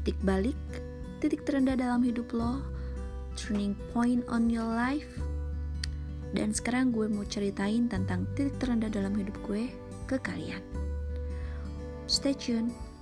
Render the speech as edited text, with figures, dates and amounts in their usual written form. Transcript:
titik balik, titik terendah dalam hidup lo, turning point on your life. Dan sekarang gue mau ceritain tentang titik terendah dalam hidup gue ke kalian. Stay tune.